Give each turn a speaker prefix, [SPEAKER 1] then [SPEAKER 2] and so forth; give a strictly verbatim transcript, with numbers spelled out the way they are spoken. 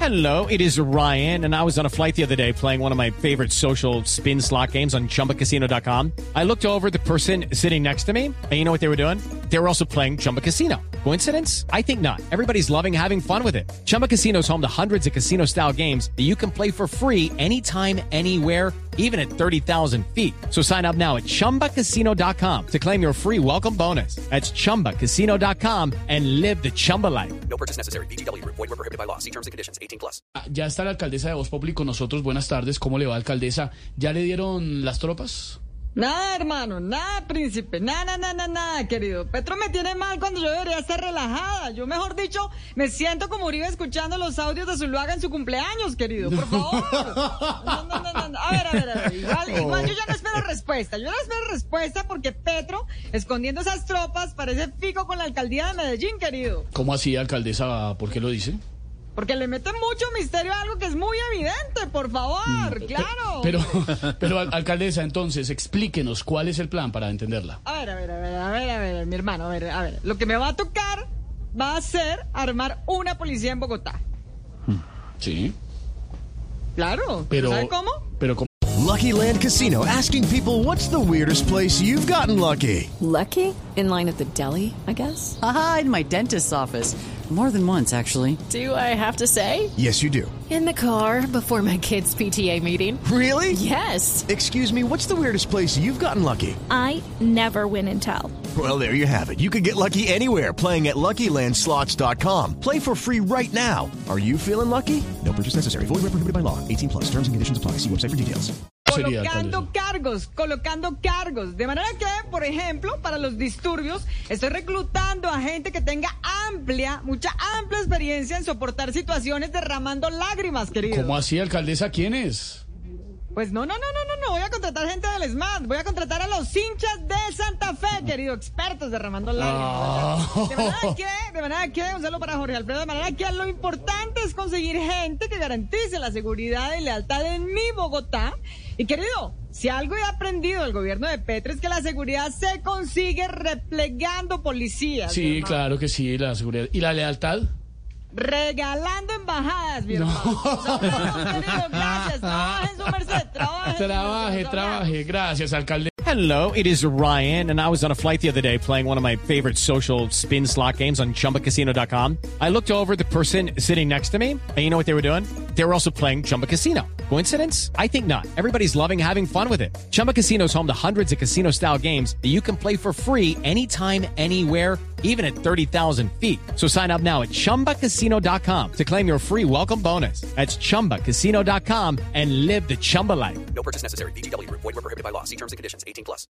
[SPEAKER 1] Hello, it is Ryan, and I was on a flight the other day playing one of my favorite social spin slot games on Chumba Casino dot com. I looked over at the person sitting next to me, and you know what they were doing? They were also playing Chumba Casino. Coincidence? I think not. Everybody's loving having fun with it. Chumba Casino is home to hundreds of casino-style games that you can play for free anytime, anywhere, even at thirty thousand feet. So sign up now at Chumba Casino dot com to claim your free welcome bonus. That's Chumba Casino dot com and live the Chumba life.
[SPEAKER 2] No purchase necessary. V G W. Void where prohibited by law. See terms and conditions. eighteen plus.
[SPEAKER 3] Ya está la alcaldesa de Voz Populi con nosotros. Buenas tardes. ¿Cómo le va, alcaldesa? ¿Ya le dieron las tropas?
[SPEAKER 4] Nada, hermano, nada, príncipe, nada, nada, nada, nada, querido. Petro me tiene mal cuando yo debería estar relajada. Yo, mejor dicho, me siento como Uribe escuchando los audios de Zuluaga en su cumpleaños, querido, por favor. No, no, no, no, no. A ver, a ver, a ver, igual, igual yo ya no espero respuesta. Yo no espero respuesta porque Petro, escondiendo esas tropas, parece fico con la alcaldía de Medellín, querido.
[SPEAKER 3] ¿Cómo así, alcaldesa? ¿Por qué lo dice?
[SPEAKER 4] Porque le meten mucho misterio a algo que es muy evidente, por favor, claro.
[SPEAKER 3] Pero, pero, alcaldesa, entonces, explíquenos cuál es el plan para entenderla.
[SPEAKER 4] A ver, a ver, a ver, a ver, a ver, mi hermano, a ver, a ver. Lo que me va a tocar va a ser armar una policía en Bogotá.
[SPEAKER 3] Sí.
[SPEAKER 4] Claro,
[SPEAKER 3] Pero,
[SPEAKER 4] ¿sabe cómo?
[SPEAKER 3] Pero, ¿cómo?
[SPEAKER 5] Lucky Land Casino, asking people, what's the weirdest place you've gotten lucky?
[SPEAKER 6] Lucky? In line at the deli, I guess?
[SPEAKER 7] Aha, in my dentist's office. More than once, actually.
[SPEAKER 6] Do I have to say?
[SPEAKER 5] Yes, you do.
[SPEAKER 6] In the car before my kids' P T A meeting.
[SPEAKER 5] Really?
[SPEAKER 6] Yes.
[SPEAKER 5] Excuse me, what's the weirdest place you've gotten lucky?
[SPEAKER 8] I never win and tell.
[SPEAKER 5] Well, there you have it. You can get lucky anywhere, playing at Lucky Land Slots dot com. Play for free right now. Are you feeling lucky? No purchase necessary. Void where prohibited by law. eighteen plus. Terms and conditions apply. See website for details.
[SPEAKER 4] Colocando cargos, colocando cargos. De manera que, por ejemplo, para los disturbios, estoy reclutando a gente que tenga amplia, mucha amplia experiencia en soportar situaciones derramando lágrimas, querido.
[SPEAKER 3] ¿Cómo así, alcaldesa? ¿Quién es?
[SPEAKER 4] Pues no, no, no, no, no, no, voy a contratar gente del SMAT, voy a contratar a los hinchas de Santa Fe, querido, expertos derramando lágrimas.
[SPEAKER 3] Oh.
[SPEAKER 4] De manera que, de manera que, un saludo para Jorge Alfredo, de manera que lo importante es conseguir gente que garantice la seguridad y lealtad en mi Bogotá. Y querido, si algo he aprendido del gobierno de Petro es que la seguridad se consigue replegando policías.
[SPEAKER 3] Sí, claro que sí, la seguridad. ¿Y la lealtad?
[SPEAKER 4] Regalando embajadas, mi hermano. No. Querido, gracias, trabaje en su merced, trabaje.
[SPEAKER 3] Trabaje, trabaje, gracias, alcalde.
[SPEAKER 1] Hello, it is Ryan, and I was on a flight the other day playing one of my favorite social spin slot games on Chumba Casino dot com. I looked over at the person sitting next to me, and you know what they were doing? They were also playing Chumba Casino. Coincidence? I think not. Everybody's loving having fun with it. Chumba Casino is home to hundreds of casino-style games that you can play for free anytime, anywhere, even at thirty thousand feet. So sign up now at Chumba Casino dot com to claim your free welcome bonus. That's Chumba Casino dot com and live the Chumba life.
[SPEAKER 2] No purchase necessary. V G W. Void where prohibited by law. See terms and conditions. eighteen plus.